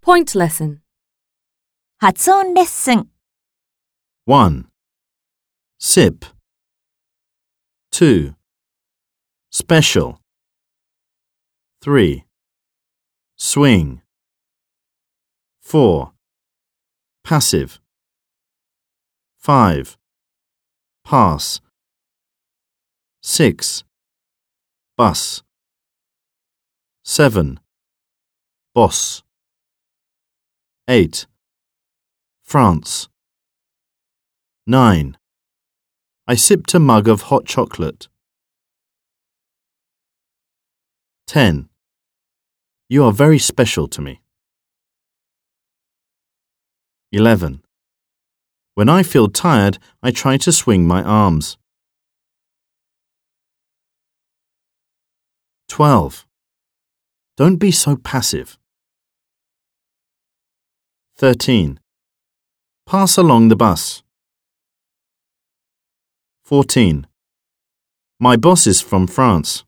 Point lesson. 発音レッスン。 1. Sip. 2. Special. 3. Swing. 4. Passive. 5. Pass. 6. Bus. 7. Boss. 8. France. 9. I sipped a mug of hot chocolate. 10. You are very special to me. 11. When I feel tired, I try to swing my arms. 12. Don't be so passive. 13. Pass along the bus. 14. My boss is from France.